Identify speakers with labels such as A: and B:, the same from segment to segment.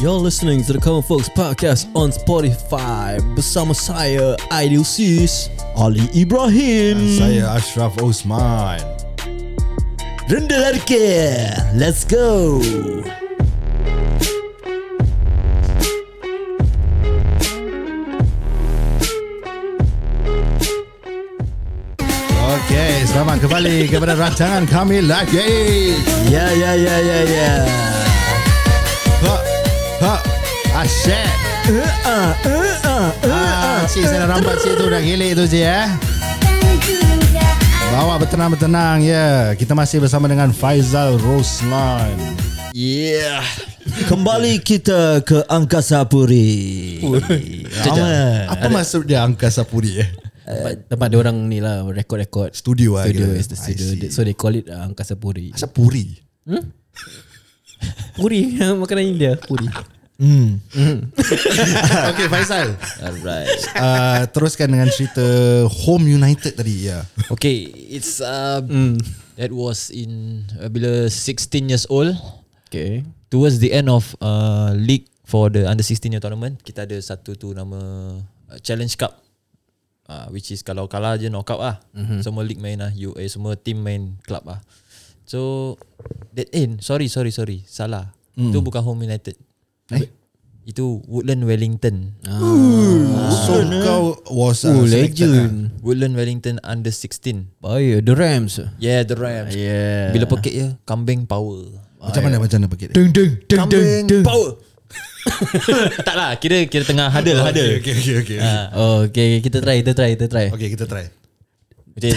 A: You're listening to the Common Folks Podcast on Spotify bersama saya Aidil Sis, Ali Ibrahim,
B: Saya Ashraf Osman.
A: Rendah Larke. Let's go.
B: Okey, selamat kembali kepada rancangan kami lagi.
A: Ya.
B: Ha, asyik. Cik, saya rambat cik tu dah gilik tu cik Bawa bertenang-bertenang ya. Kita masih bersama dengan Faizal Roslan.
A: Yeah. Kembali kita ke Angkasa Puri.
B: Apa maksud dia Angkasa Puri
C: Tempat dia orang ni lah rekod-rekod
B: Studio lah
C: studio
B: kira.
C: is the studio. So they call it Angkasa Puri.
B: Asal Puri?
C: Puri makanan India. Puri.
B: Okey Faizal,
C: Alright.
B: teruskan dengan cerita Home United tadi ya.
D: Okay, it's that was in bila 16 years old.
C: Okay.
D: Towards the end of league for the under 16 year tournament, kita ada satu tu nama Challenge Cup. Which is kalau kalah je knockout lah. Semua league main lah, semua team main club lah. So that sorry salah. Itu bukan Home United. Itu Woodland Wellington.
B: So kau was
C: Legend.
D: Woodland Wellington under 16.
C: Baik, the Rams.
D: Yeah, the Rams.
C: Yeah.
D: Bila pekik je, kambing power.
B: Macam mana pakai dia?
D: Kambing power. Tak lah, kira tengah huddle.
B: Okay.
C: Okay, kita try.
B: Okay, kita try.
D: Okay.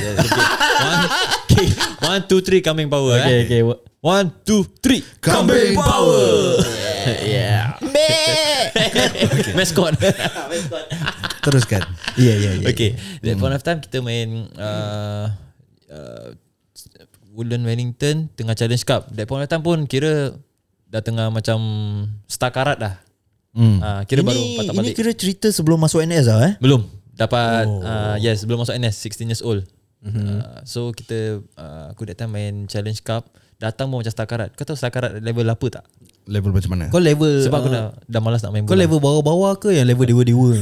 D: 1, 2, 3 kambing power.
C: Okay.
D: 1, 2, 3
B: Kambing power.
C: Yeah.
D: Mascot.
B: Teruskan.
C: Yeah.
D: Okay, that point of time kita main Woodland Wellington tengah Challenge Cup. That point of time pun kira dah tengah macam star-karat dah. Kira baru patah
A: Ini
D: balik.
A: kira cerita sebelum masuk NS lah
D: Belum dapat yes, belum masuk NS, 16 years old. So kita aku that time main Challenge Cup, datang pun macam star-karat. Kau tahu star-karat level apa tak?
B: Level macam mana?
A: Kau level
D: Sebab aku dah malas nak main
A: Kau
D: bola.
A: level bawah-bawah ke yang level dewa-dewa?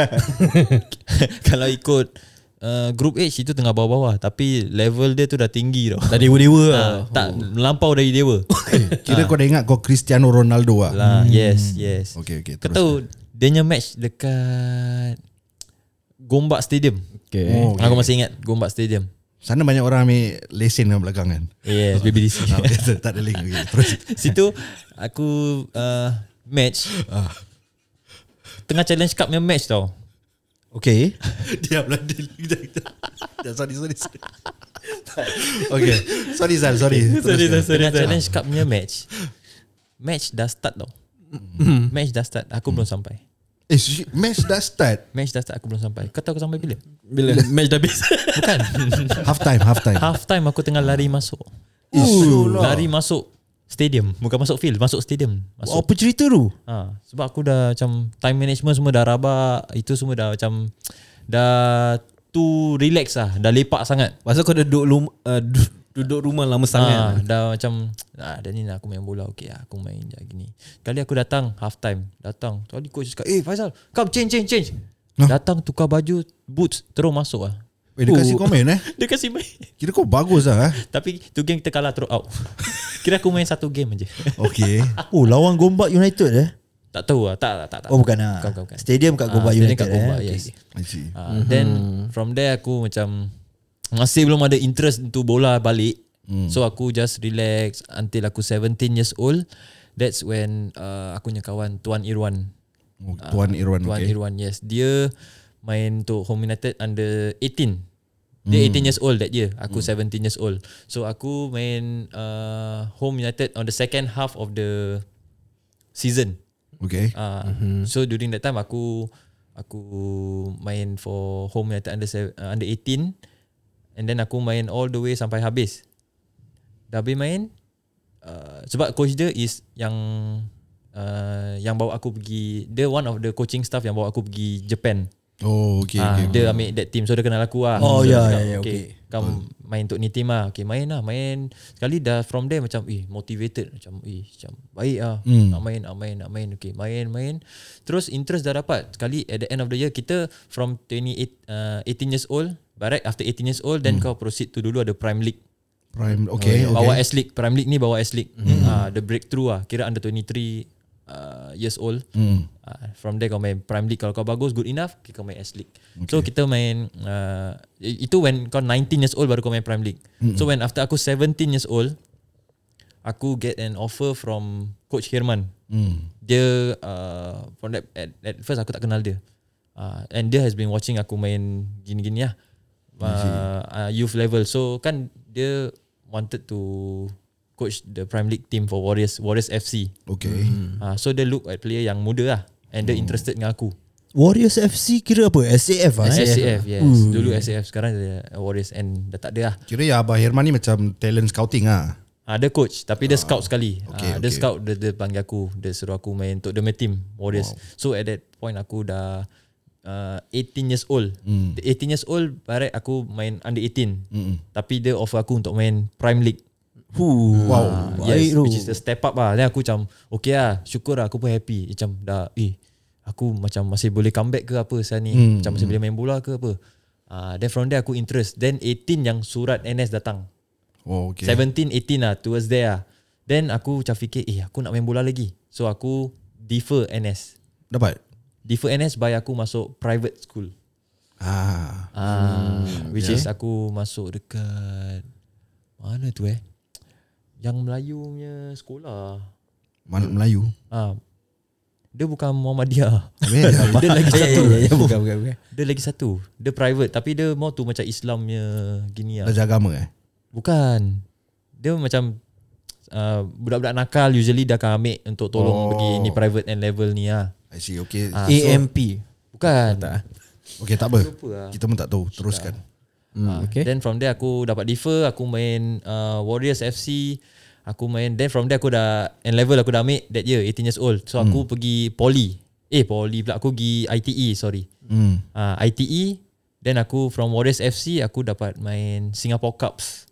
D: Kalau ikut group H itu tengah bawah-bawah, tapi level dia tu dah tinggi tau.
A: Dah dewa-dewa lah.
D: Tak melampau dari dewa.
B: Kira kau dah ingat kau Cristiano Ronaldo lah.
D: Lah, yes.
B: Okay,
D: Kau
B: terus.
D: tahu dia punya match dekat Gombak Stadium.
C: Okay.
B: Oh, okay.
D: Aku masih ingat Gombak Stadium.
B: Sana banyak orang ambil lesen kat belakang kan.
D: Yes, BBDC.
B: Tak ada link. Okay, terus.
D: Situ aku match tengah Challenge Cup punya match tau.
A: Okay.
B: Diam lah. Sorry. Okay. Sorry Zal, sorry.
D: Tengah Challenge Cup punya match dah start tau. Match dah start, aku belum sampai.
B: Match dah start.
D: Aku belum sampai. Kau tahu aku sampai bila?
C: Bila match dah habis.
D: Bukan.
B: Half time.
D: Aku tengah lari masuk. Lari masuk stadium, bukan masuk field, masuk stadium. Masuk.
A: Apa cerita tu?
D: Sebab aku dah macam time management semua dah rabak. Itu semua dah macam dah too relax lah. Dah lepak sangat.
C: Pasal kau duduk rumah lama sangat.
D: Dah macam dah ni aku main bola. Okay lah, aku main je gini. Kali aku datang half time. Tadi coach cakap, Faizal, come change. Datang tukar baju, boots, terus masuk lah.
B: Dia kasih komen
D: Dia kasih main.
B: Kira kau bagus lah
D: Tapi tu game kita kalah terus out. Kira aku main satu game aje.
B: Okay.
A: Lawan Gombak United
D: Tak tahu lah. Tak.
A: Oh bukan lah.
D: Bukan.
A: Stadium kat Gombak
D: Stadium
A: United
D: kat Gombak, yes.
B: I see.
D: Then from there aku macam masih belum ada interest untuk bola balik. So aku just relax until aku 17 years old. That's when aku punya kawan Tuan Irwan.
B: Tuan Irwan.
D: Tuan
B: Okay.
D: Irwan, yes. Dia main untuk Home United under 18. Dia 18 years old that year. Aku 17 years old. So aku main Home United on the second half of the season.
B: Okay.
D: So during that time aku main for Home United under 18, and then aku main all the way sampai habis. Dah habis main sebab coach dia is yang bawa aku pergi, dia one of the coaching staff yang bawa aku pergi Japan.
B: Oh, okay.
D: Dia ambil that team, so dia kenal aku lah.
A: Oh,
D: So
A: ya,
D: dia cakap,
A: ya,
D: okay, come main untuk ni team lah. Okay, main sekali dah from there macam motivated, macam baik lah. Nak main. Okay, main. Terus interest dah dapat. Sekali at the end of the year, kita from 18 years old, right after 18 years old, then kau proceed to dulu ada Prime League. Bawa S League. Prime League ni bawa S League. The breakthrough lah. Kira under 23 years old. From there kau main Prime League. Kalau kau bagus, good enough, kau main S League. So kita main itu when kau 19 years old baru kau main Prime League. So when after aku 17 years old, aku get an offer from Coach Herman. Dia from that, at first aku tak kenal dia. And dia has been watching aku main gini-gini lah, youth level. So kan dia wanted to coach the Prime League team for Warriors FC.
B: Okay.
D: So dia look at player yang muda lah, and dia interested dengan aku.
A: Warriors FC kira apa? SAF lah.
D: SAF, yes. Dulu SAF, sekarang dia Warriors, and dah tak ada lah.
B: Kira ya Abah Herman ni macam talent scouting lah.
D: Dia coach, tapi dia scout sekali.
B: Okay,
D: Dia scout, dia panggil aku, dia suruh aku main untuk the team Warriors. So at that point aku dah 18 years old. 18 years old, barat aku main under 18. Tapi dia offer aku untuk main Prime League.
A: Wow,
D: Yes,
A: baik tu.
D: which is the step up lah. Then aku macam okay lah, syukur lah, aku pun happy. Macam dah aku macam masih boleh comeback ke apa saat ni, macam masih boleh main bola ke apa. Then from there aku interest. Then 18 yang surat NS datang.
B: Oh, okay.
D: 17, 18 lah, towards there lah. Then aku macam fikir aku nak main bola lagi. So aku defer NS. Defer NS by aku masuk private school. Which is aku masuk dekat mana tu yang Melayu punya sekolah.
B: Mana Melayu?
D: Dia bukan Muhammadiyah.
B: Dia
D: lagi satu.
A: Bukan.
D: Dia lagi satu. Dia private, tapi dia more tu macam Islamnya gini lah.
B: Belajar agama
D: Bukan. Dia macam budak-budak nakal usually dah akan ambil untuk tolong pergi ni private and level ni lah.
B: I see, okay.
A: AMP.
D: Bukan.
B: Okay, tak apa.
D: Lupa lah.
B: Kita pun tak tahu. Teruskan.
A: Okay.
D: Then from there aku dapat defer, aku main Warriors FC. Aku main, then from there aku dah N level aku dah ambil that year, 18 years old. So aku pergi Poly pula, aku pergi ITE, sorry. ITE. Then aku from Warriors FC aku dapat main Singapore Cups.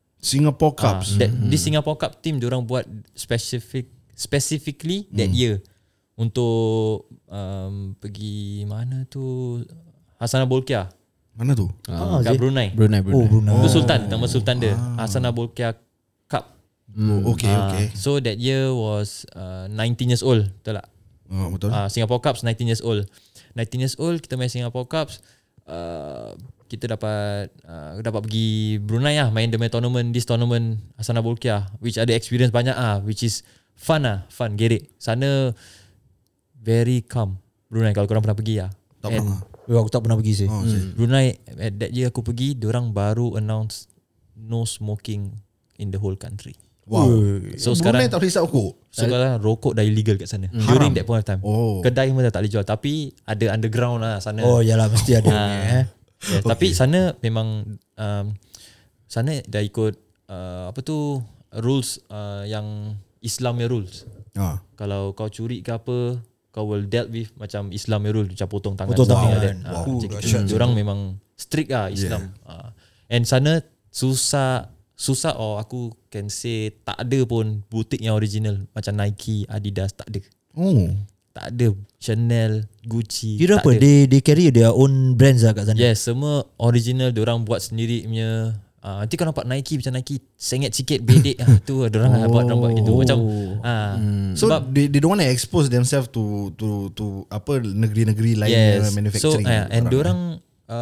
D: This Singapore Cup team diorang buat specifically that year untuk pergi mana tu, Hasanah Bolkiah.
B: Mana tu?
D: Kat Brunei.
A: Brunei.
D: Tu Sultan, nama Sultan dia. Hasanah Bolkiah Cup.
B: Okay.
D: So that year was 19 years old, betul tak?
B: Betul.
D: Singapore Cups 19 years old. 19 years old kita main Singapore Cups. Kita dapat pergi Brunei lah, main the tournament, this tournament Hasanah Bolkiah, which ada experience banyak which is fun, gerik. Sana very calm Brunei, kalau korang pernah pergi
B: Tak pernah.
A: Aku tak pernah pergi sih.
D: Brunei at that year aku pergi, diorang baru announce no smoking in the whole country.
B: Wow.
D: So
B: Brunei
D: sekarang
B: tak boleh hisap rokok.
D: sekarang rokok dah illegal kat sana during that point of time. Kedai pun dah tak boleh jual, tapi ada underground lah sana.
A: Oh yalah, mesti ada.
D: Tapi sana memang sana dah ikut rules yang Islamnya rules. Kalau kau curi ke apa, kau will dealt with macam Islamnya rule, macam potong tangan, something like that. Macam gitu. Diorang memang strict Islam. And sana susah or aku can say tak ada pun butik yang original macam Nike, Adidas, tak ada. Tak ada. Chanel, Gucci.
A: Kira apa?
D: Ada.
A: They carry their own brands lah kat sana.
D: Yes, semua original, diorang buat sendiri punya. Nanti kau nampak Nike macam Nike sengit sikit bedek tu diorang buat gitu macam
B: so they don't want to expose themselves to apa negeri-negeri lain yang manufacturing.
D: So and diorang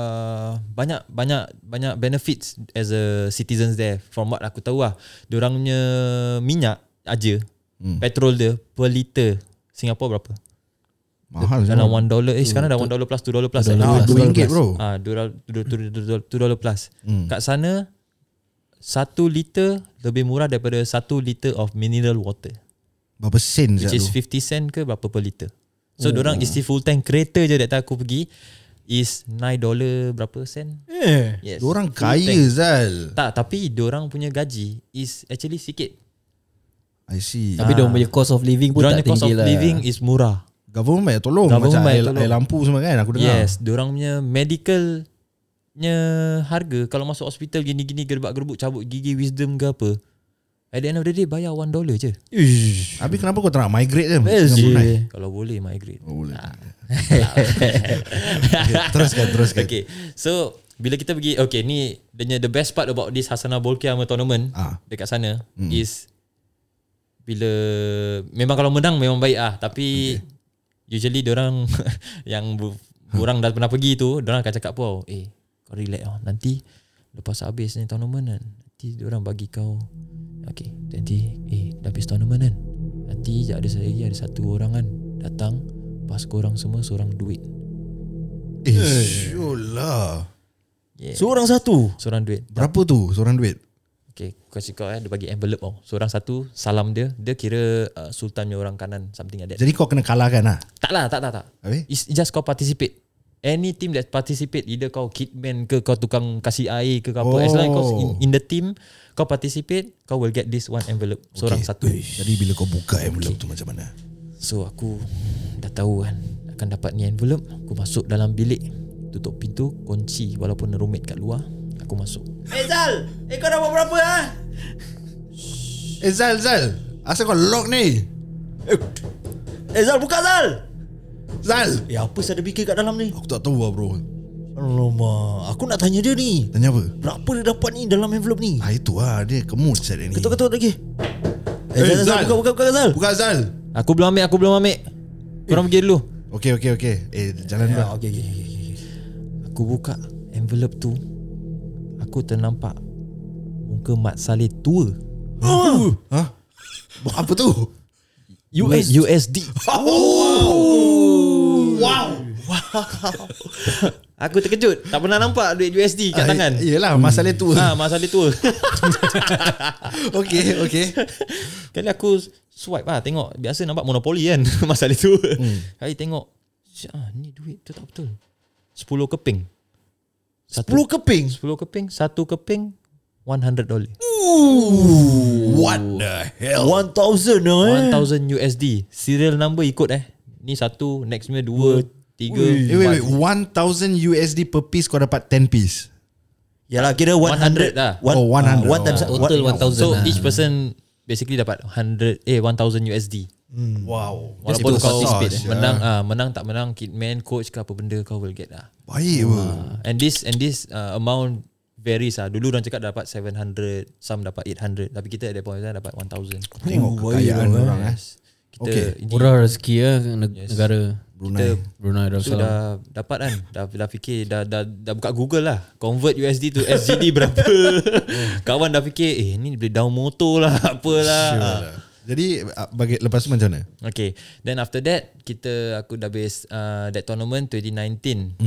D: banyak benefits as a citizens there. From what aku tahu diorang punya minyak aja, petrol dia per liter Singapore berapa?
B: Mahal
D: dalam $1. Sekarang dah $1 plus $2 plus.
B: RM2 bro.
D: $2 plus. Kat sana 1 liter lebih murah daripada 1 liter of mineral water.
B: Berapa sen?
D: Which is 50 cent ke berapa per liter. So diorang isi full tank kereta je that time aku pergi is $9 berapa sen. Yes.
B: Diorang kaya Zal.
D: Tak, tapi diorang punya gaji is actually sikit.
B: I see.
A: Tapi diorang punya cost of living pun
D: Diorang
A: tak
D: punya cost
A: tinggi
D: of
A: lah.
D: living is murah.
B: Government banyak tolong.
D: Government
B: Macam
D: banyak
B: air,
D: tolong.
B: air lampu semua kan aku dengar.
D: Yes, diorang punya medicalnya harga kalau masuk hospital gini-gini gerbak-gerbuk cabut gigi wisdom ke apa, at the end of the day bayar $1 je.
B: Habis kenapa kau tak nak migrate je?
D: Kalau boleh migrate.
B: Boleh. Teruskan.
D: Okay, so bila kita pergi, okay, ni the best part about this Hasanah Bolkiah tournament dekat sana is bila memang kalau menang memang baik tapi usually diorang yang orang dah pernah pergi tu, diorang akan cakap kau kau relax nanti lepas habis ni tournament kan, nanti diorang bagi kau nanti dah habis tournament kan, nanti ada satu orang kan datang pas korang semua seorang duit.
B: Sure lah.
A: Seorang
D: duit.
B: Berapa tu seorang duit?
D: Okay, kasi kau dia bagi envelope seorang satu, salam dia kira sultannya orang kanan, something like that.
B: Jadi kau kena kalahkan lah?
D: Tak.
B: Habis?
D: It's just kau participate. Any team that participate, either kau kitman ke, kau tukang kasih air ke apa, as long as kau in the team, kau participate, kau will get this one envelope. Seorang satu.
B: Jadi bila kau buka envelope tu macam mana?
D: So aku dah tahu kan akan dapat ni envelope. Aku masuk dalam bilik, tutup pintu, kunci walaupun roommate kat luar. Aku masuk.
A: Zal, kau dah buat berapa
B: Zal, asal kau lock ni?
A: Zal, buka Zal.
B: Zal,
A: Apa saya ada fikir kat dalam ni?
B: aku tak tahu lah bro.
A: Alamak, aku nak tanya dia ni.
B: Tanya apa?
A: Berapa dia dapat ni dalam envelope ni?
B: Itu lah, dia kemut set dia ni.
A: Ketuk lagi. Zal, buka Zal.
B: Buka Zal.
D: Aku belum ambil. Korang pergi dulu.
B: Okay. Jalan dulu.
A: Okay.
D: Aku buka envelope tu, aku ternampak muka Mat Saleh tua.
B: Hah? Apa tu?
D: USD.
B: Wow.
D: Aku terkejut. Tak pernah nampak duit USD kat tangan.
B: Yelah, masalah tu.
D: Mat Saleh tua.
B: Okay.
D: Kali aku swipe tengok. Biasa nampak Monopoly kan. Mat Saleh tua. Kali tengok, ni duit tu tak betul. 10 keping.
A: 10 keping?
D: 10 keping. Satu keping $100.
B: What the hell?
A: 1,000
D: $1,000 USD. Serial number ikut ni satu, next punya 2, 3.
B: Wait, 1,000 USD per piece kau dapat 10 piece.
A: Yalah, kira 100
D: lah.
B: 100.
A: One times
C: Total 1,000
D: So
C: lah.
D: each person basically dapat 1,000 USD.
B: Wow.
D: Walaupun
B: Itu
D: kau
B: besar,
D: menang tak menang, kitman, coach ke apa benda, kau will get lah.
B: Baik apa?
D: And this amount varies lah. Dulu orang cakap dapat 700, some dapat 800, tapi kita at that point dapat 1,000.
B: Tengok kekayaan orang
D: Kita ini,
C: Murah rezeki negara Brunei
D: so
C: Darussalam.
D: dah dapat kan, dah fikir, dah buka Google lah, convert USD to SGD berapa. Kawan dah fikir ni boleh down motor lah, apalah.
B: Sure. Jadi bagi lepas tu macam mana?
D: Okay, then after that aku dah base that tournament 2019.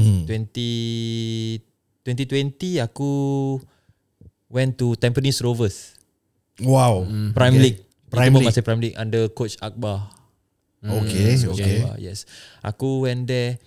D: 2020 aku went to Tampines Rovers.
B: Wow.
D: Prime League.
B: Prime League.
D: Masih Prime League under coach Akbar.
B: Okay.
D: Akbar, yes. Aku went there.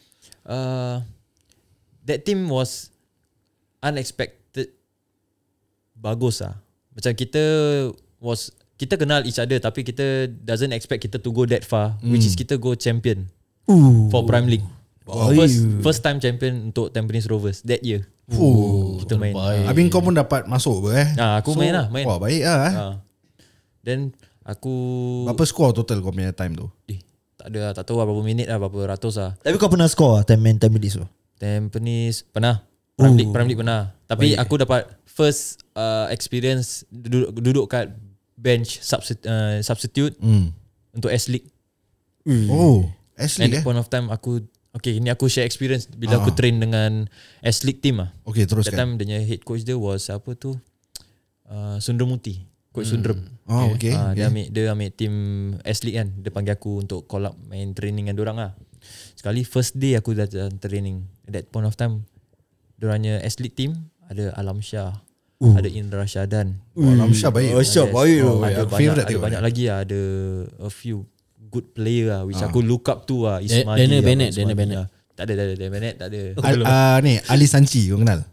D: That team was unexpected bagus lah. Macam kita kenal each other, tapi kita doesn't expect kita to go that far, which is kita go champion for Prime League. First time champion untuk Tampines Rovers that year. Kita main.
B: Habis kau pun dapat masuk
D: Aku main.
B: Wah, baik lah.
D: Then aku
B: Berapa skor total kau punya time tu?
D: tak tahu berapa minit lah, berapa ratus lah.
A: Tapi kau pernah score Tampines tu?
D: Tampines pernah. Prime League pernah. Tapi aku dapat first experience duduk kat bench substitute untuk S-League.
B: S-League
D: At that point of time ni aku share experience bila aku train dengan S-League team lah.
B: Okay,
D: That
B: teruskan.
D: time dia head coach dia was apa tu, Sundramuti, coach Sundram.
B: Okay.
D: Dia ambil team S-League kan. Dia panggil aku untuk call up main training dengan diorang lah. Sekali first day aku dah training. At that point of time, diorangnya S-League team ada Alam Shah, ada Indra Syadan.
B: Alam Shah baik.
D: Ada banyak lagi lah. Ada a few good player lah, which aku look up to lah. Ismail,
C: Dana Bennett.
D: Tak ada Manet tak ada.
B: Ni Ali Sanchi kau kenal?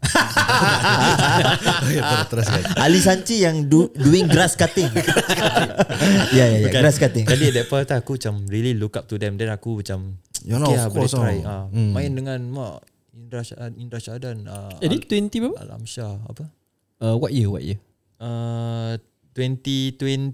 B: Teruskan.
A: Ali Sanchi yang doing grass cutting. Ya, grass cutting.
D: Kali at that point aku macam really look up to them. Then aku macam
B: of course
D: boleh try. Main dengan Mak Indra Syahadan,
C: Dia 20 berapa?
D: Alam Shah apa?
C: What year?
D: 2020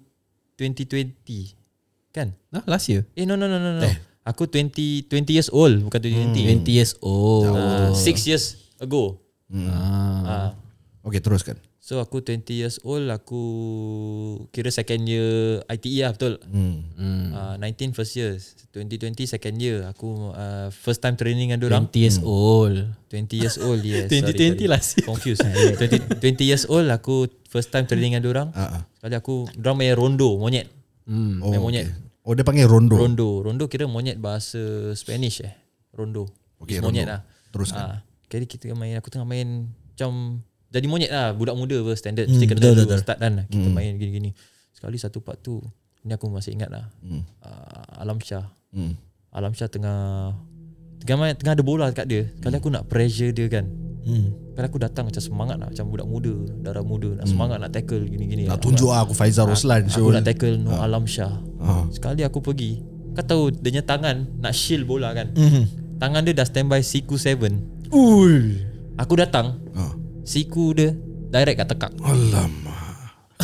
D: kan?
C: Last year.
D: No. Aku 20 years old, bukan 2020.
C: 20 years old.
D: 6 years ago.
B: Okay, teruskan.
D: So aku 20 years old, aku kira second year ITE lah, betul. 19 first year, 2020 second year. Aku first time training dengan dorang.
C: 20 years old.
D: 20 years old, yes.
C: 2020 lah.
D: Confused. 20 years old, aku first time training dengan dorang. Sekali aku, dorang main rondo, monyet. Main monyet.
B: Oh, dia panggil rondo.
D: Rondo kira monyet bahasa Spanish Rondo.
B: Okay,
D: monyet
B: rondo.
D: lah.
B: Teruskan.
D: Kali aku tengah main macam jadi monyet lah, budak muda standard. Mesti kena dulu start kan. Kita main gini-gini. Sekali satu part tu, ni aku masih ingat lah. Alam Shah. Alam Shah tengah ada bola dekat dia. Kali aku nak pressure dia kan. Kali aku datang macam semangat lah, macam budak muda, darah muda, nak semangat nak tackle gini-gini.
B: Nak tunjuk aku Faizal Roslan.
D: Aku nak tackle Alam Shah. Sekali aku pergi, kau tahu dia punya tangan nak shield bola kan. Tangan dia dah standby siku 7. Aku datang, siku dia direct kat tekak.
B: Alamak.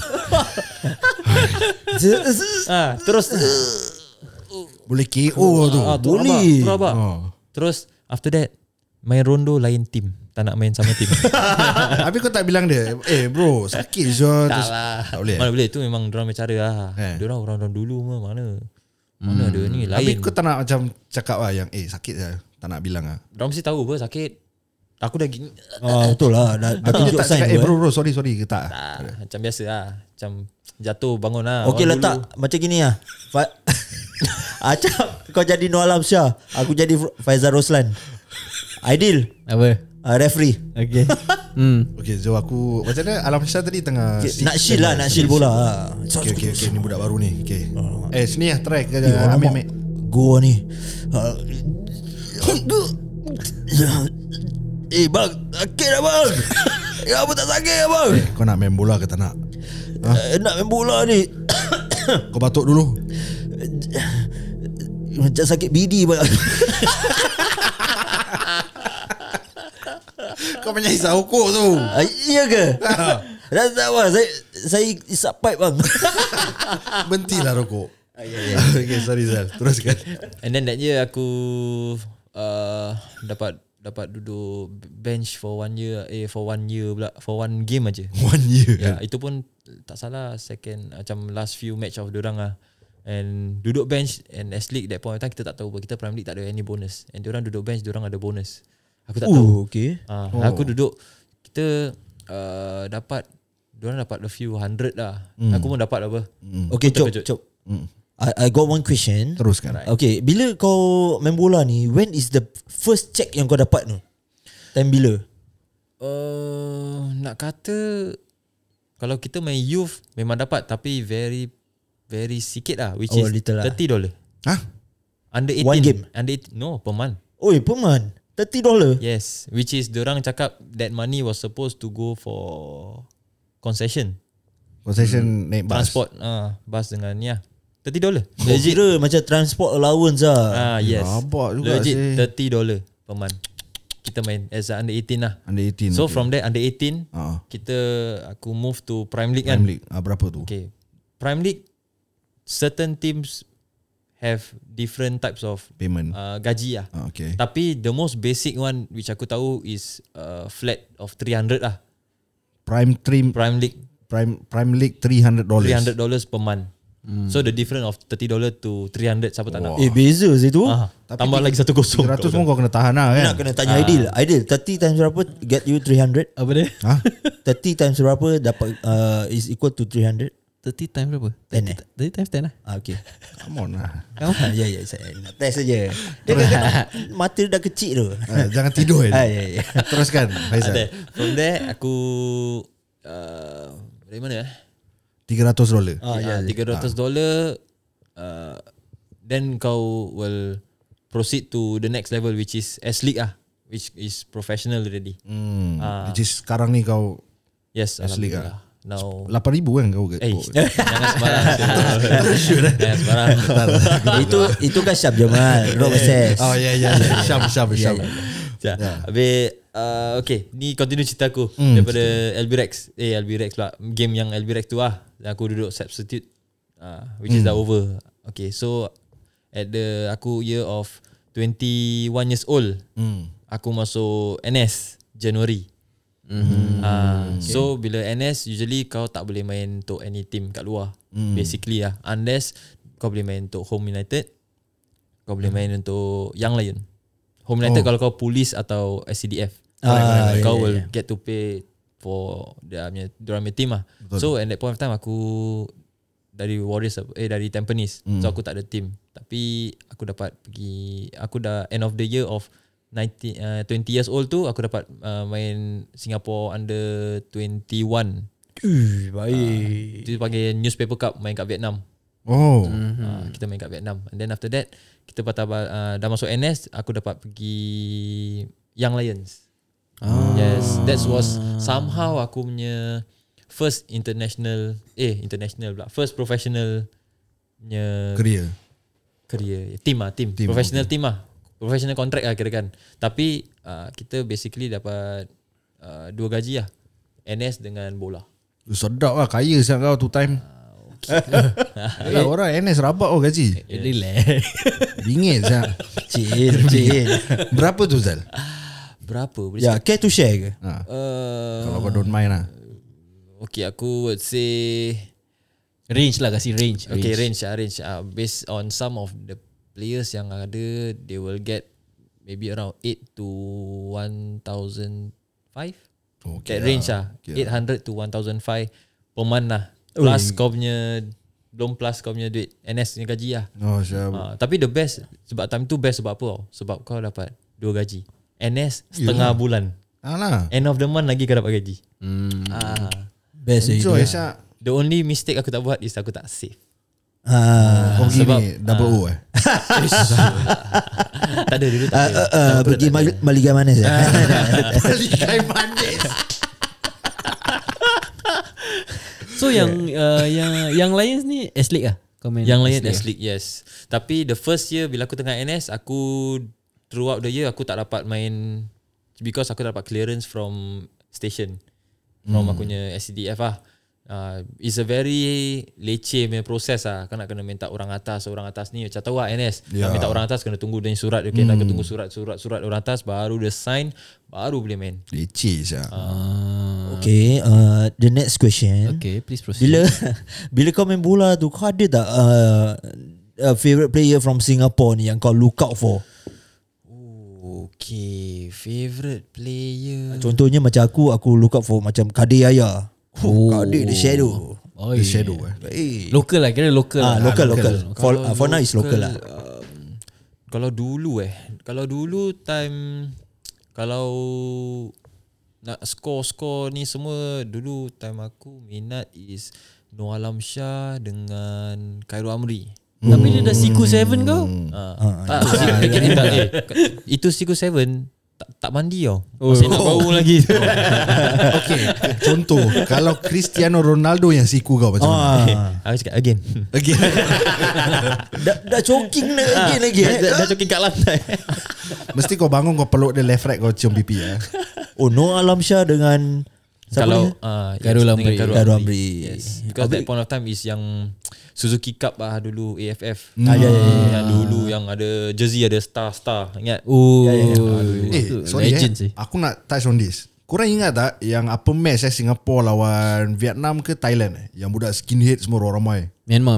D: Terus
B: Boleh KO tu.
A: Boleh.
D: Terus after that main rondo lain team. Tak nak main sama team.
B: Habis kau tak bilang dia, bro sakit je.
D: Tak lah.
B: Tak boleh.
D: Mana boleh, tu memang dorang punya cara lah. Dorang orang dulu mana ada ni lain.
B: Habis kau tak nak macam cakap lah yang sakit je. Tak nak bilang lah.
D: Dorang mesti tahu apa sakit. Aku dah gini.
A: Betul lah. Dah tunjuk
B: tak
A: sign
B: cakap,
A: tu.
B: bro sorry ke tak?
D: Macam biasa lah. Macam jatuh bangun lah.
A: Okey
D: Orang
A: letak
D: dulu.
A: macam gini lah. Acap kau jadi Nur Alam Shah, aku jadi Faizal Roslan. Aidil referee.
C: Okay.
B: Okay, so aku macam mana Alam Shah tadi tengah
A: Nak shield lah, nak shield bola.
B: Okay, ni budak baru ni. Okay. Sini lah try ke ambil.
A: Gua ni. Bang, sakit dah bang. Apa tak sakit ya bang?
B: Kau nak main bola ke tak nak?
A: Nak main bola ni.
B: Kau batuk dulu.
A: Macam sakit bidi bang.
B: Kau banyak hisap rokok tu.
A: Iya ke? Dah tak bang, saya isap pipe bang.
B: Berhentilah rokok. Okay, sorry Zal. Teruskan.
D: And then that year aku dapat duduk bench for 1 year. For 1 year pula. For 1 game aja.
B: 1 year.
D: Ya, itu pun tak salah second macam last few match of diorang lah. And duduk bench and S League that point of time kita tak tahu, kita Prime League tak ada any bonus. And diorang duduk bench, diorang ada bonus. Aku tak tahu.
A: Okay.
D: Aku duduk, kita dapat, diorang dapat a few hundred lah. Aku pun dapat apa.
A: Okay,
D: Aku
A: Cop. I got one question.
B: Teruskan.
A: Okay, bila kau main bola ni, when is the first check yang kau dapat tu? Time bila?
D: Nak kata kalau kita main youth memang dapat, tapi very sikit lah, which is
A: little lah.
D: $30.
B: Hah?
D: Under 18.
A: One game?
D: Under 18, no, per month.
A: Oi, per month? $30?
D: Yes, which is diorang cakap that money was supposed to go for concession.
B: Concession naik bus.
D: Transport, bus dengan ni lah. $30.
A: Kau kira macam transport allowance lah.
D: Yes.
B: Rabak juga
D: Legit
B: sih.
D: $30 per month. Kita main as a under 18 lah.
B: Under 18.
D: So
B: okay.
D: from there under 18, aku move to Prime League kan.
B: Prime League. Berapa tu?
D: Okay. Prime League, certain teams have different types of
B: Payment.
D: gaji lah.
B: Okay.
D: Tapi the most basic one which aku tahu is flat of 300 lah.
B: Prime League $300.
D: $300 per month. So the difference of $30 to 300 siapa tak nak.
A: Beza situ.
D: Tambah lagi 1 kosong.
B: 300 pun kau kena tahan lah kan.
A: Nak kena tanya Aidil. Aidil, 30 times berapa get you 300?
C: Apa dia?
A: 30 times berapa dapat is equal to 300?
C: 30 times berapa?
A: 10
C: 30 times 10 lah.
A: Okay.
B: Come on lah.
A: Ya, saya nak test saja. Dia kan mata dia dah kecil tu.
B: Jangan tidur kan.
A: Ya.
B: Teruskan Faizal.
D: From there aku dari mana
B: $300.
D: $300. Then kau will proceed to the next level, which is S-League which is professional already.
B: Which is sekarang ni kau
D: Yes,
B: S-League
D: alhamdulillah. Now
B: 8,000 kan kau
D: jangan sembarang. Jangan sembarang.
A: Itu kan Syab Jamal, Rob SS.
B: Oh ya. Syam.
D: Habis okay, ni continue cerita aku daripada LB Rex pula. Game yang LB Rex tu aku duduk substitute, which is dah over. Okay, so at the aku year of 21 years old, aku masuk NS Januari. So bila NS usually kau tak boleh main untuk any team kat luar, basically unless kau boleh main untuk Home United, kau boleh main untuk Young Lion. Home United kalau kau Police atau SCDF, kau will get to pay for diorang punya team So at that point of time aku dari Warriors dari Tampines, so aku tak ada team, tapi aku dapat pergi, aku dah end of the year of 20 years old tu aku dapat main Singapore Under 21.
A: Baik.
D: Itu panggil Newspaper Cup, main kat Vietnam. Kita main kat Vietnam. And then after that kita dah masuk NS, aku dapat pergi Young Lions. Yes, that was somehow aku punya first international pula, first professional punya career team professional team professional contract kirakan. Tapi kita basically dapat 2 gaji NS dengan bola.
B: Sedap kaya sangat kau tu time. Yalah, orang NS rabak gaji.
A: Relax.
B: Bingit sangat.
A: Chill.
B: Berapa tu Zal?
D: Berapa?
A: Ya, care to share ke?
B: Kalau kau don't mind
D: Okay, aku would say
C: Range lah, kasih range.
D: Okay, range. Based on some of the players yang ada, they will get maybe around 8 to 1,005. That range 800 to 1,005 per month Plus kau punya, belum plus kau punya duit NS punya gaji tapi the best, sebab time tu best sebab apa sebab kau dapat 2 gaji NS setengah bulan. End of the month lagi kau dapat gaji.
A: Best
B: enjoy
D: The only mistake aku tak buat is aku tak save.
B: Kau gini double O
D: Tak ada dulu
A: pergi Maligai Manis
B: Maligai Manis.
C: So yang Lions ni S-League
D: Yang Lions S-League, yes. Tapi the first year bila aku tengah NS, aku throughout the year aku tak dapat main because aku dapat clearance from station, from aku punya SCDF it's a very leceh punya proses Kau nak kena minta orang atas ni macam tahu NS minta orang atas kena tunggu dia surat. Okay, nak tunggu surat orang atas baru dia sign, baru boleh main.
B: Leceh
A: Okay, the next question.
C: Okay, please proceed.
A: Bila kau main bola tu, kau ada tak favorite player from Singapore ni yang kau look out for?
D: Okay, favorite player.
A: Contohnya macam aku look out for macam Kadir Yahya. Kadir The Shadow.
B: The Shadow
C: Local kira local.
A: Local. For now is local lah.
D: Kalau dulu time, kalau nak score ni semua, dulu time aku minat is Noah Alamsyah dengan Khairul Amri.
C: Tapi dia dah Siku 7 kau.
D: Itu Siku 7 tak mandi masih nak bau lagi.
B: Okay, contoh kalau Cristiano Ronaldo yang siku kau macam mana?
D: Aku cakap again.
A: dah choking lagi.
D: Dah choking kat lantai.
B: Mesti kau bangun, kau peluk dia left right, kau cium pipi
A: Noah Alamsyah dengan
D: kalau
C: Khairul
A: Amri.
D: Yes. Because that point of time is yang Suzuki Cup dulu AFF.
A: Yang
D: dulu yang ada jersey ada star ingat.
B: Sorry aku nak touch on this. Korang ingat tak yang apa match Singapore lawan Vietnam ke Thailand yang budak skinhead semua orang ramai?
C: Myanmar.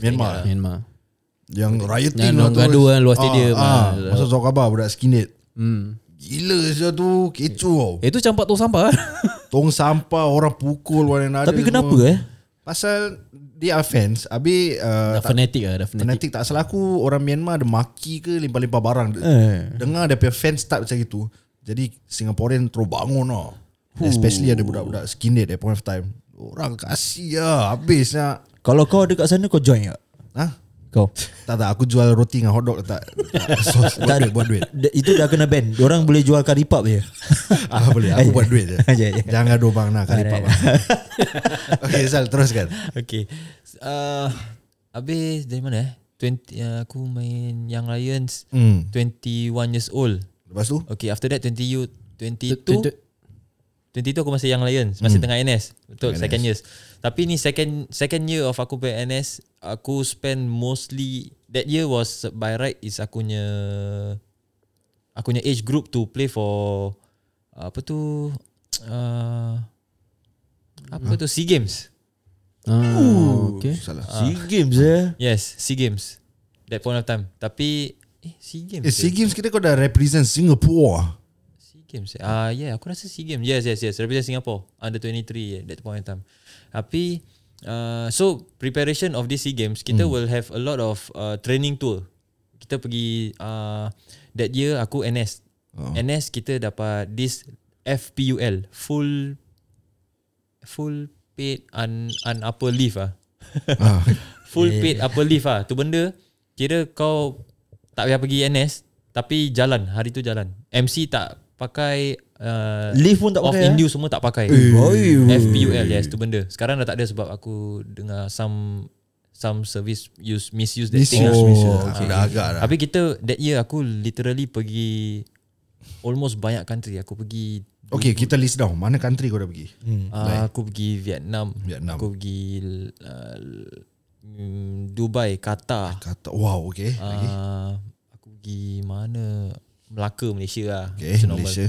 B: Yang rioting
C: yang gaduh luar stadium.
B: Masa tahu khabar budak skinhead. Gila saja tu, kecoh.
C: Itu campak tong sampah.
B: Tong sampah, orang pukul one another.
A: Tapi kenapa
B: Pasal dia fans. Habis fanatik tak salah aku, orang Myanmar ada maki ke limpah-limpah barang. Dengar dia punya fans start macam itu. Jadi Singaporean terus bangun especially ada budak-budak skinhead at point of time. Orang kasih habis.
A: Kalau kau ada kat sana, kau join tak? Kau
B: Tak, aku jual roti dengan hotdog tak sos buat duit.
A: itu dah kena ban. Diorang boleh jual curry pub je.
B: Boleh, aku buat duit je.
A: Ya.
B: Jangan gaduh bang nak kali pak. Okay, Sal, teruskan.
D: Okay. Habis dari mana 20 aku main Young Lions 21 years old.
B: Lepas tu?
D: Okay, after that 22 aku masih Young Lions, masih tengah NS. Betul, second years. Tapi ni second year of aku play NS, aku spend mostly that year was by right is akunya age group to play for apa tu SEA Games.
A: Okay.
B: Salah.
A: SEA Games
D: Yes, SEA Games. That point of time. Tapi SEA Games.
B: SEA Games kita kau dah represent Singapore.
D: SEA Games. Yeah, aku rasa SEA Games. Yes. Represent Singapore under 23 that point in time. Tapi so preparation of this SEA Games, kita will have a lot of training tour. Kita pergi that year aku NS. NS kita dapat this FPUL, full paid upper leave full paid upper leave tu benda kira kau tak payah pergi NS tapi jalan hari tu jalan. MC tak pakai
A: leave pun tak
D: off
A: pakai.
D: induce semua tak pakai. FPUL yes tu benda. Sekarang dah tak ada sebab aku dengar some service misuse that thing.
B: Dah agak dah.
D: Tapi kita that year aku literally pergi almost banyak country. Aku pergi
B: Okay, kita list down. Mana country kau dah pergi?
D: aku pergi Vietnam. Aku pergi Dubai, Qatar.
B: Wow, okay. Lagi?
D: Aku pergi mana? Melaka, Malaysia lah.
B: Okay, Malaysia.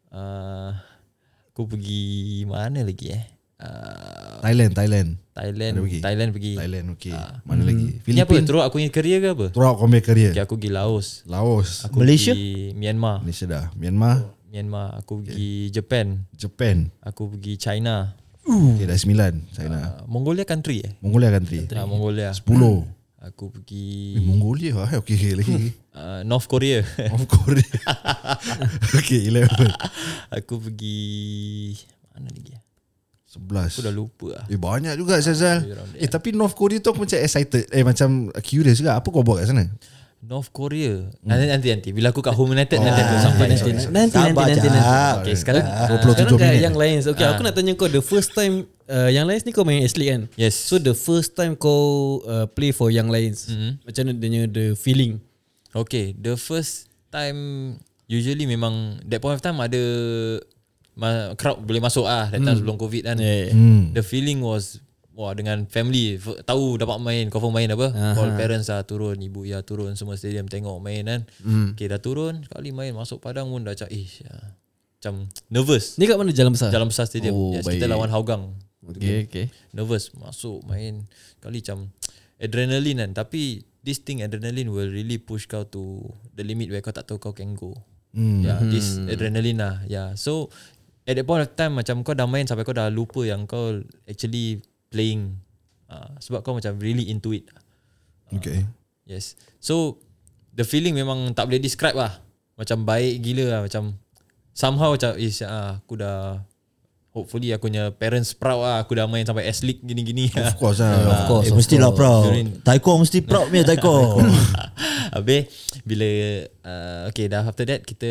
D: Aku pergi mana lagi
B: Thailand.
D: Thailand pergi.
B: Thailand, okay. Mana lagi?
D: Ni apa?
B: Philippines.
D: Terus aku punya career ke apa?
B: Throughout kau punya career.
D: Okay, aku pergi Laos.
B: Laos.
A: Malaysia?
D: Pergi Myanmar.
B: Malaysia dah. Myanmar.
D: Aku pergi Japan. Aku pergi China.
B: Okay, dah 9. China.
D: Mongolia country
B: Mongolia country.
D: Mongolia.
B: 10.
D: Aku pergi
B: Mongolia okay lagi.
D: North Korea.
B: Of Korea. Okay, 11.
D: Aku pergi mana lagi?
B: 11.
D: Aku dah lupa lah.
B: Banyak juga Zazal. Tapi North Korea tu aku macam excited. Macam curious juga. Apa kau buat kat sana?
D: North Korea. Nanti bila aku kat Home United nanti aku sampai
C: Nanti.
D: Okay, sekarang
B: 27
C: kat
B: minit.
C: Young Lions. Okay, aku nak tanya kau the first time Young Lions ni kau main S-League kan?
D: Yes.
C: So the first time kau play for Young Lions, macam mana the feeling?
D: Okay, the first time usually memang that point of time ada crowd boleh masuk that time sebelum COVID kan. The feeling was dengan family tahu dapat main, confirm main apa. Call parents turun, ibu turun semua stadium tengok main kan. Okay, dah turun sekali main masuk padang pun dah macam nervous.
C: Ni kat mana Jalan Besar?
D: Jalan Besar Stadium. Yes, kita lawan Hougang.
C: Okay.
D: Nervous masuk main kali macam adrenaline kan. Tapi this thing adrenaline will really push kau to the limit where kau tak tahu kau can go. This adrenaline lah. So at that point of time macam kau dah main sampai kau dah lupa yang kau actually playing. Sebab kau macam really into it.
B: Okay.
D: Yes. So the feeling memang tak boleh describe lah. Macam baik gila lah. Macam somehow macam aku dah, hopefully aku punya parents proud lah. Aku dah main sampai S-League gini-gini.
B: Of course lah.
C: Of course.
A: Mestilah proud. Taiko mesti proud punya Taiko.
D: Habis bila okay dah after that kita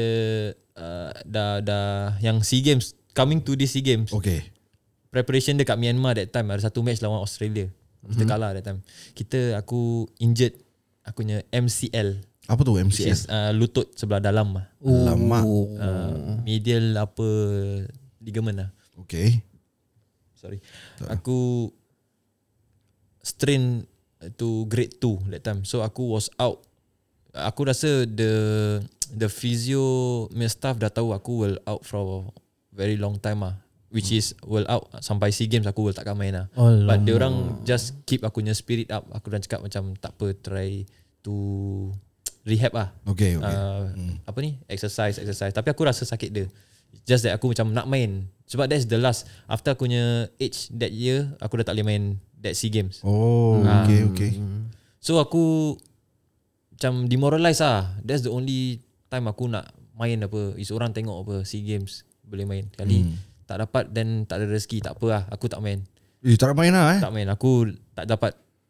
D: dah yang SEA Games, coming to this SEA Games.
B: Okay.
D: Preparation dekat Myanmar that time ada satu match lawan Australia. Kita kalah that time. Aku injured aku punya MCL.
B: Apa tu
D: Which
B: MCL?
D: is lutut sebelah dalam lah.
B: Lama.
D: Medial upper ligament lah.
B: Okay.
D: Sorry. Aku strain to grade 2 that time. So aku was out. Aku rasa the physio staff dah tahu aku will out for very long time lah. Which is will out sampai SEA Games aku will takkan main lah. But dia orang just keep aku punya spirit up. Aku dah cakap macam tak apa, try to rehab lah.
B: Okay.
D: Apa ni? Exercise. Tapi aku rasa sakit dia. Just that aku macam nak main. Sebab that's the last. After aku punya age that year, aku dah tak boleh main that SEA Games.
B: Oh, okay.
D: So aku macam demoralize lah. That's the only time aku nak main apa. Is orang tengok apa SEA Games boleh main. Kali tak dapat dan tak ada rezeki, tak apa lah. Aku tak main.
B: Tak nak main lah
D: Tak main. Aku tak dapat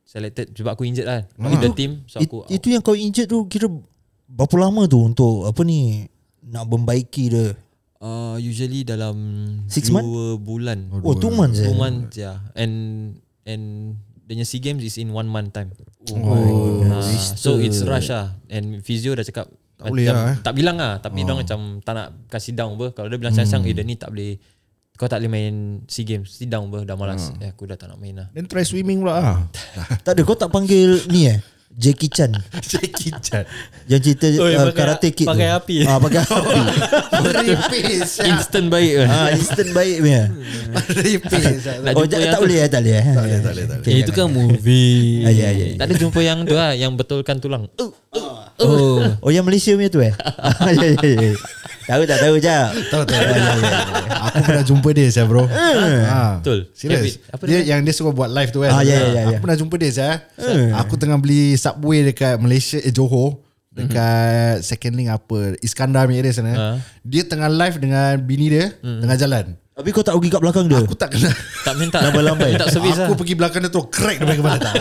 D: selected sebab aku injured lah with the team. So aku
E: Itu yang kau injured tu kira berapa lama tu untuk apa ni nak membaiki dia?
D: Usually dalam
E: 6 months?
D: 2 bulan.
E: 2 months
D: 2 months yeah. And the SEA Games is in 1 month time. So it's rush lah. And physio dah cakap
B: tak boleh lah,
D: tak bilang lah, tapi dia macam tak nak kasih down apa. Kalau dia bilang siang-siang dia ni tak boleh, kau tak boleh main SEA Games, sit down ber, dah malas. Aku dah tak nak main lah.
B: Then try swimming pula lah.
E: Tak ada, kau tak panggil ni Jackie Chan
B: Jackie Chan
E: yang cerita Karate Kid
C: pakai
E: tu.
C: api.
E: Pakai api.
B: Meripis
D: Instant baik kan.
E: Instant baik punya.
B: Meripis
D: Nak
E: Oh
D: jumpa yang
E: tak
D: tu.
E: boleh tak boleh.
B: Tak boleh.
C: Itu kan movie.
E: Ya.
D: Tak ada jumpa yang tu lah, yang betulkan tulang.
E: Oh yang Malaysia punya tu Ya. Tahu tak tahu je.
B: Tahu. Aku pernah jumpa dia saya bro.
D: Betul.
B: Serius.
D: Apa
B: Dia yang dia suka buat live tu kan.
E: Ya.
B: Aku pernah jumpa dia saya. Aku tengah beli Subway dekat Malaysia, Johor. Dekat second link apa, Iskandar punya area sana. Dia tengah live dengan bini dia tengah jalan.
E: Tapi kau tak pergi kat belakang dia.
B: Aku tak kenal.
D: Tak minta
E: Lambai-lambai.
D: minta servis lah.
B: Aku pergi belakang dia terus crack dia kepala tak.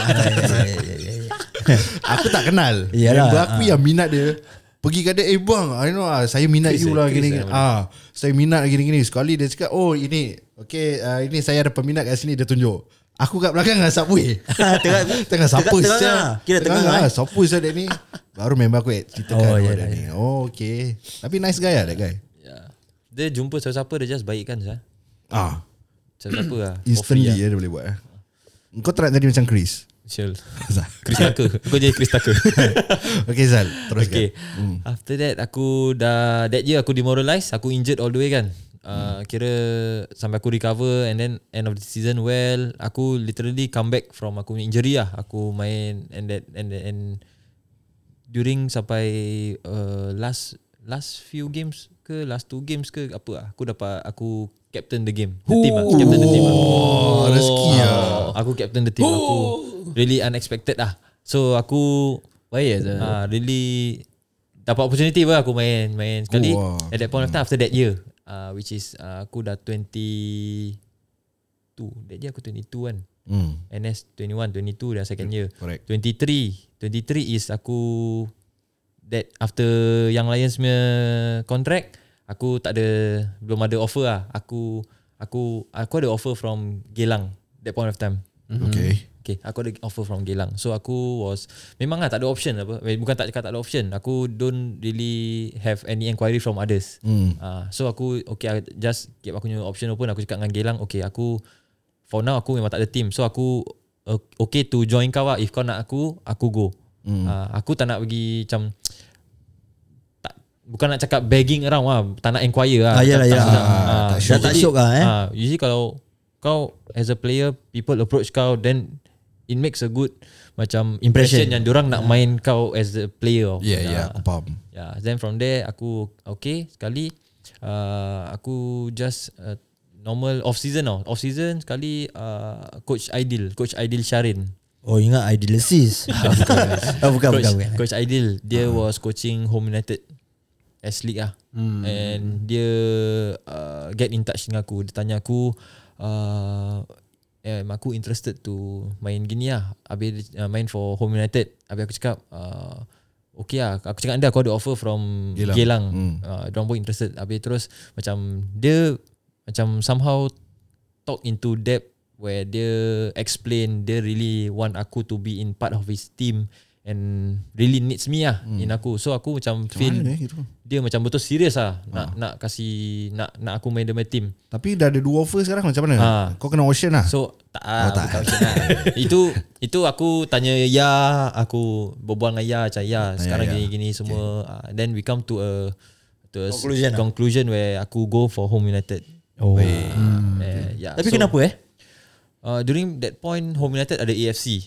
B: Aku tak kenal.
E: Yalah.
B: Member aku yang minat dia. Pergi kat dia, bang, I know saya minat you lah gini. Saya minat gini-gini. Sekali dia cakap, oh ini, okay, ini saya ada peminat kat sini, dia tunjuk. Aku kat belakang dengan Subway. Tengah siapa siapa?
E: Kira tengah
B: siapa siapa dia ni? Baru member aku ceritakan dia ni. Oh okay. Tapi nice guy lah that guy.
D: Dia jumpa siapa-siapa dia just baik kan sah. Siapa-siapa lah.
B: Instantly dia boleh buat. Kau tak nak jadi macam Chris?
D: Chill. Chris Tucker. Kau jadi Chris Tucker.
B: Okay Zal, teruskan.
D: Okay. After that aku dah, that year aku demoralized, aku injured all the way kan. Kira sampai aku recover, and then end of the season well, aku literally come back from aku injury lah. Aku main and during sampai last few games ke last 2 games ke apa lah, aku captain the game, the team lah. Captain the team lah.
B: Rezeki lah.
D: Aku captain the team. Aku really unexpected lah. So aku
C: Baik
D: really dapat opportunity pun aku main sekali. At that point of time, after that year, which is aku dah 22. That year aku 22 kan. NS 21, 22 dah second year.
B: Correct.
D: 23 is aku, that after Young Lions punya contract, aku belum ada offer lah. Aku ada offer from Geylang that point of time. Okay, aku ada offer from Geylang. So aku memang lah tak ada option apa. Bukan tak cakap tak ada option. Aku don't really have any inquiry from others. So aku I just keep aku punya option open. Aku cakap dengan Geylang, okay, aku for now aku memang tak ada team. So aku okay to join kau lah. If kau nak aku go. Aku tak nak pergi macam, bukan nak cakap begging around lah, tak nak inquire lah.
E: Yalah. Tak syok lah
D: Usually kalau kau as a player, people approach kau, then it makes a good macam impression yang diorang nak main kau as a player.
B: Aku faham.
D: Then from there aku okay sekali, aku just normal off season sekali, Coach Aidil Sharin.
E: Oh ingat Idealisis. Bukan.
D: Coach Aidil, dia was coaching Home United S-League lah. And dia get in touch dengan aku. Dia tanya aku, aku interested to main gini lah. Habis main for Home United. Habis aku cakap, okay lah. Aku cakap anda, aku ada offer from Geylang. Diorang pun interested. Habis terus macam dia macam somehow talk into depth, where dia explain dia really want aku to be in part of his team and really needs me lah in aku. So aku macam feel dia macam betul serius lah nak kasih nak aku main the team.
B: Tapi dah ada 2 offer sekarang, macam mana? Kau kena auction lah.
D: So tak bukan auction lah. Itu aku tanya aku berbual dengan macam sekarang gini semua. Then we come to a conclusion where aku go for Home United.
E: Tapi so, kenapa
D: during that point Home United ada AFC.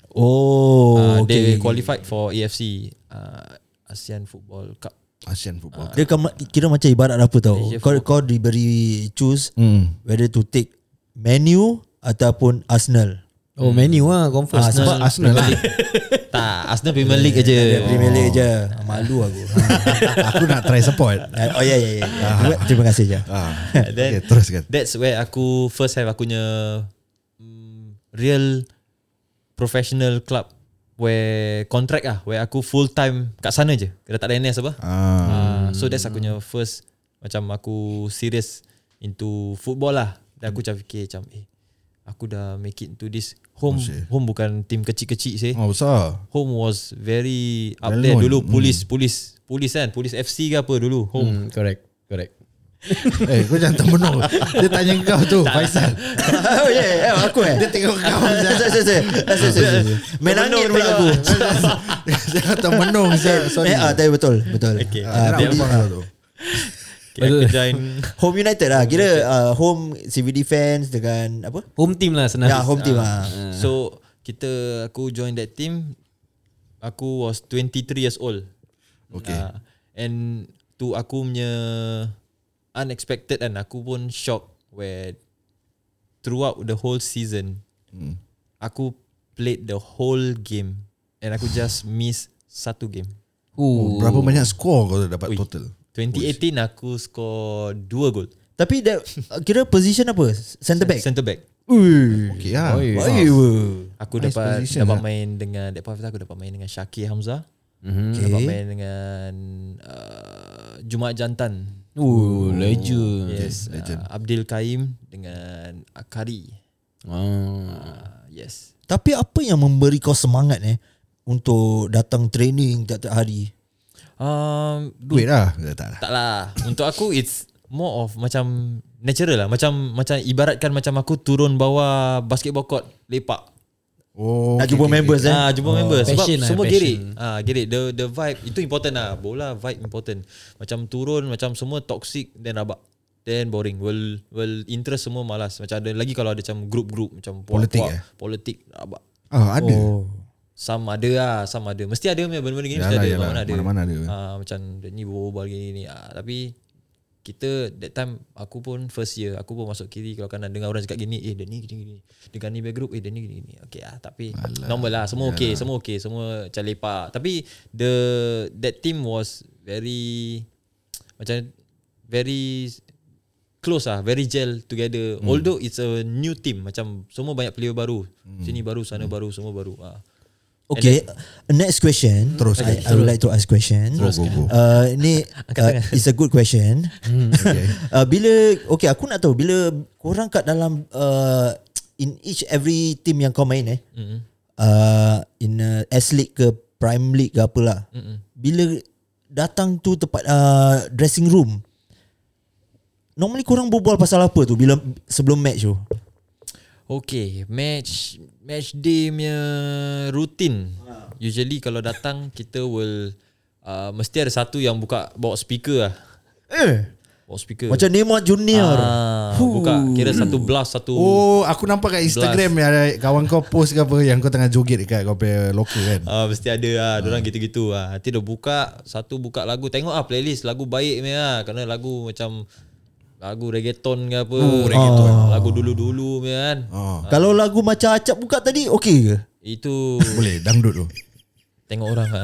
D: They qualified for AFC, ASEAN Football Cup.
E: Dia kira macam ibarat apa tau. Kau diberi choose whether to take Man U ataupun Arsenal.
C: Man U lah confirm.
B: Sebab Arsenal lah.
D: Tak, Arsenal Premier League aja.
E: Premier League aja. Malu aku.
B: Aku nak try support.
E: Ya. Terima kasih je.
D: Then
B: teruskan.
D: That's where aku first have aku punya real professional club where contract where aku full time kat sana je. Dah tak ada NS apa. So that's aku punya first macam aku serious into football lah. Dan aku macam fikir macam aku dah make it into this home. Home bukan team kecil-kecil sih.
B: Besar.
D: Home was very up there dulu. Police kan, Police FC ke apa dulu. Home.
C: Correct.
B: Kau jangan termenung. Dia tanya kau tu, Faisal.
E: Oh yeah, aku
B: Dia tengok kau.
E: Menangis pula aku.
B: Jangan termenung. Sorry.
E: Tapi betul.
D: Okay.
B: Tu.
D: Aku join
E: Home United lah. Kira home CVD fans dengan apa?
C: Home team lah senang.
E: Ya, home team lah.
D: So aku join that team. Aku was 23 years old.
B: Okay.
D: And tu aku punya unexpected kan. Aku pun shock where throughout the whole season aku played the whole game and aku just miss satu game.
B: Berapa banyak skor kau dapat total?
D: 2018 aku score 2 gol.
E: Tapi kira position apa? Centre back.
D: Centre back.
B: Okay lah.
D: Aku
B: Nice
D: dapat
B: position,
D: main dengan aku dapat main dengan Syakir Hamzah.
E: Okay.
D: Dapat main dengan Jumaat Jantan.
C: Legend.
D: Yes.
B: legend.
D: Abdul Kaim dengan Akari. Yes.
E: Tapi apa yang memberi kau semangat untuk datang training tiap-tiap hari?
B: Duit lah.
D: Tak lah. Untuk aku it's more of macam natural lah. Macam ibaratkan macam aku turun bawah basketball court lepak.
E: Nak jumpa members
D: Jumpa members. Sebab
C: Passion
D: semua
C: lah,
D: gerik. Gerik. The vibe itu important lah. Bola vibe important. Macam turun macam semua toxic then rabak. Then boring. Will interest semua malas. Macam ada lagi kalau ada macam group macam politik rabak.
B: Ada.
D: Some ada. Mesti ada benda-benda gini mesti ada.
B: Mana-mana ada.
D: Macam ni berbual gini. Tapi kita that time aku pun first year aku pun masuk kiri kalau kanan dengar orang cakap gini dia ni gini dengan ni back group dia ni gini okey tapi normal lah semua okey semua macam lepak tapi that team was very macam very close lah, very gel together although it's a new team macam semua banyak player baru sini baru sana baru semua baru.
E: Okay, next question.
B: Terus.
E: I would like to ask question.
B: Go.
E: Ini it's a good question. Okay. Aku nak tahu bila korang kat dalam in every team yang kau main in S League ke Prime League ke apalah. Bila datang tu tempat dressing room, normally korang berbual pasal apa tu bila sebelum match tu?
D: Okay, match day punya routine. Usually kalau datang kita will mesti ada satu yang bawa speaker lah. Bawa speaker.
E: Macam Neymar Junior.
D: Buka kira satu blast satu.
B: Aku nampak kat Instagram ada kawan kau post ke apa yang kau tengah joget dekat kau punya locker kan.
D: Mesti ada lah. Diorang gitu-gitu lah. Nanti dia buka lagu. Tengok playlist lagu baik ni lah. Kerana lagu macam lagu reggaeton ke apa. Lagu dulu-dulu kan.
E: Kalau lagu macam Acap buka tadi okey ke?
D: Itu
B: boleh dangdut tu.
D: Tengok orang lah.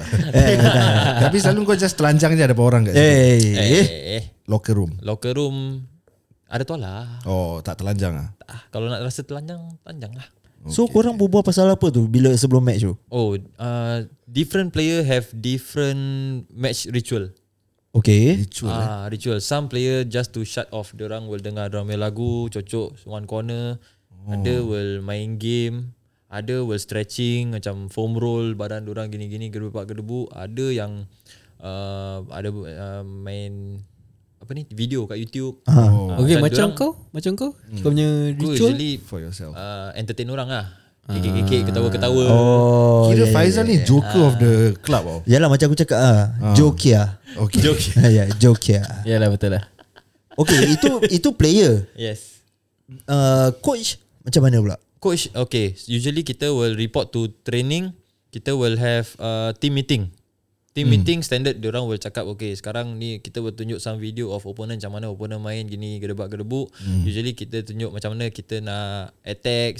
B: Tapi selalu kau just telanjang je ada orang kat situ. Locker room ada toilet. Tak telanjang lah.
D: Kalau nak rasa telanjang lah.
E: So korang berbual pasal apa tu bila sebelum match tu?
D: Different player have different match ritual.
E: Okay.
D: Ritual. Some player just to shut off. Diorang will dengar diorang punya lagu, cocok one corner. Ada will main game. Ada will stretching, macam foam roll badan diorang gini-gini, gerdebu. Ada yang ada main apa ni video kat YouTube.
C: Okay, macam kau kau punya ritual
D: usually
B: for yourself.
D: Entertain orang lah. Kekek ketawa-ketawa.
B: Kira Faizal ni joker of the club tau.
E: Yalah macam aku cakap Jokia.
B: Okay.
E: Jokia.
C: Yalah betul lah.
E: Okay, itu player.
D: Yes.
E: Coach macam mana pula?
D: Coach, okay. Usually kita will report to training. Kita will have team meeting. Team meeting standard, diorang will cakap okay sekarang ni kita will tunjuk some video of opponent macam mana opponent main gini gedebak-gedebuk. Usually kita tunjuk macam mana kita nak attack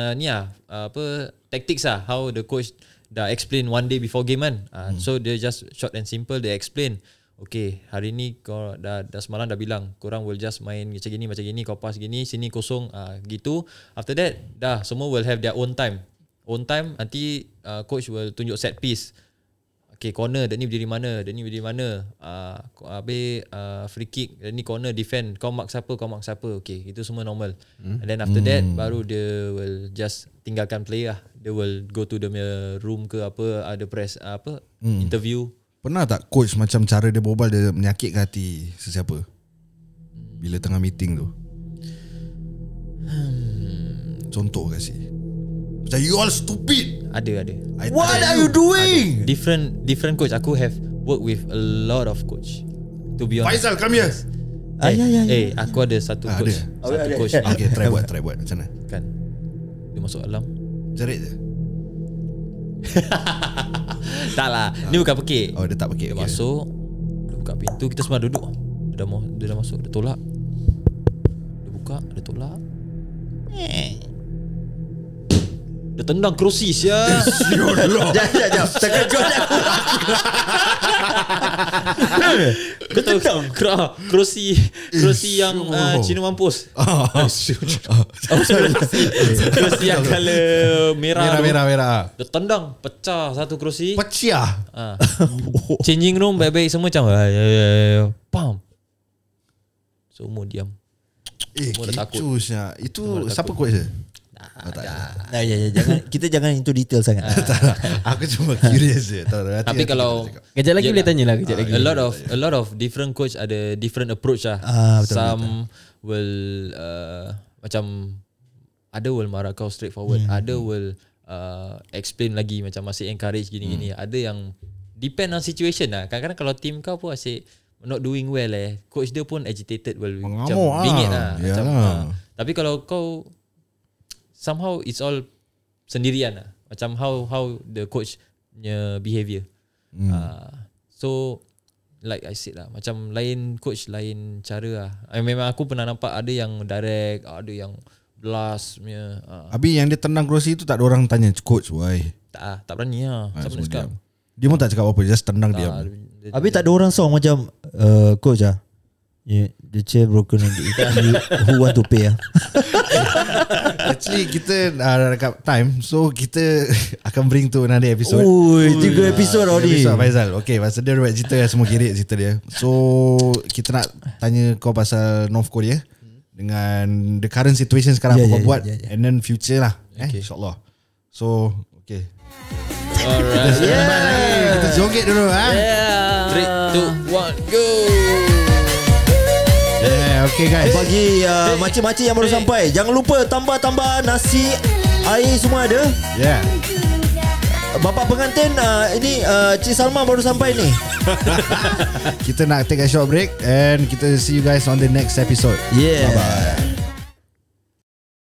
D: tactics lah, how the coach dah explain one day before game kan. So they just short and simple, they explain okay hari ni kau dah semalam dah bilang korang will just main macam gini kau pass gini sini kosong gitu. After that dah semua will have their own time own time. Nanti coach will tunjuk set piece. Okay, corner, dia ni berdiri mana, habis free kick, dia ni corner, defend, kau mark siapa. Okay, itu semua normal. And then after that, baru dia will just tinggalkan play lah. Dia will go to the room ke apa, ada press interview.
B: Pernah tak coach macam cara dia berbual dia menyakitkan hati sesiapa bila tengah meeting tu? Contoh kasih. Macam you all stupid.
D: Ada.
E: What are you doing?
D: Different coach. Aku have worked with a lot of coach. To be honest.
B: Faizal, come here.
D: Aku ada satu coach.
E: Ada.
D: Coach.
B: Okay, try buat macam mana?
D: Kan. Dia masuk alam.
B: Jerit je.
D: Tak lah. Ni bukan pekik.
B: Oh, dia tak pekik.
D: Dia masuk, dia buka pintu, kita semua duduk. Dia dah masuk, dia tolak. Dia buka, dia tolak. Dia tendang kerusi sia.
E: Jap. Terkejut aku.
D: Kau tahu kerusi yang Cina mampus. Kerusi yang color merah. Dia tendang, pecah satu kerusi.
B: Pecah.
D: Changing room baik-baik semua macam pam. Semua diam. Semua dah takut.
B: Itu siapa coach dia?
E: Jangan into detail sangat.
B: Aku cuma curious je.
D: Tapi kalau
C: kejap lagi boleh tanya lah.
D: A lot of different coach ada different approach lah. Some will macam ada will marah kau straightforward. Ada will explain lagi macam masih encourage gini-gini. Ada yang depend on situation lah. Kadang-kadang kalau team kau pun asyik not doing well coach dia pun agitated, macam bingit lah. Macam, tapi kalau kau somehow it's all sendirian lah. Macam how the coach punya behaviour. So like I said lah, macam lain coach lain cara lah. Memang aku pernah nampak ada yang direct, ada yang blast punya.
B: Habis yang dia tendang kerusi tu tak ada orang tanya coach why?
D: Tak berani lah. Siapa nak cakap?
B: Dia pun tak cakap apa-apa, just tendang diam.
E: Habis tak ada orang song macam coach the chair broken and who want to pay
B: Actually kita dekat time, so kita akan bring to another episode.
E: 3 episod already.
B: Faizal. Okay, pasal dia buat cerita semua kirik cerita dia. So kita nak tanya kau pasal North Korea dengan the current situation sekarang apa kau buat and then future lah. InsyaAllah. So okay.
D: Alright.
B: Kita joget dulu
D: 3, 2, 1, go.
B: Okay guys.
E: Bagi makcik-makcik yang baru sampai, jangan lupa tambah nasi, air semua ada. Bapak pengantin ini Cik Salma baru sampai ni.
B: Kita nak take a short break and kita see you guys on the next episode.
E: Yeah.
B: Bye bye.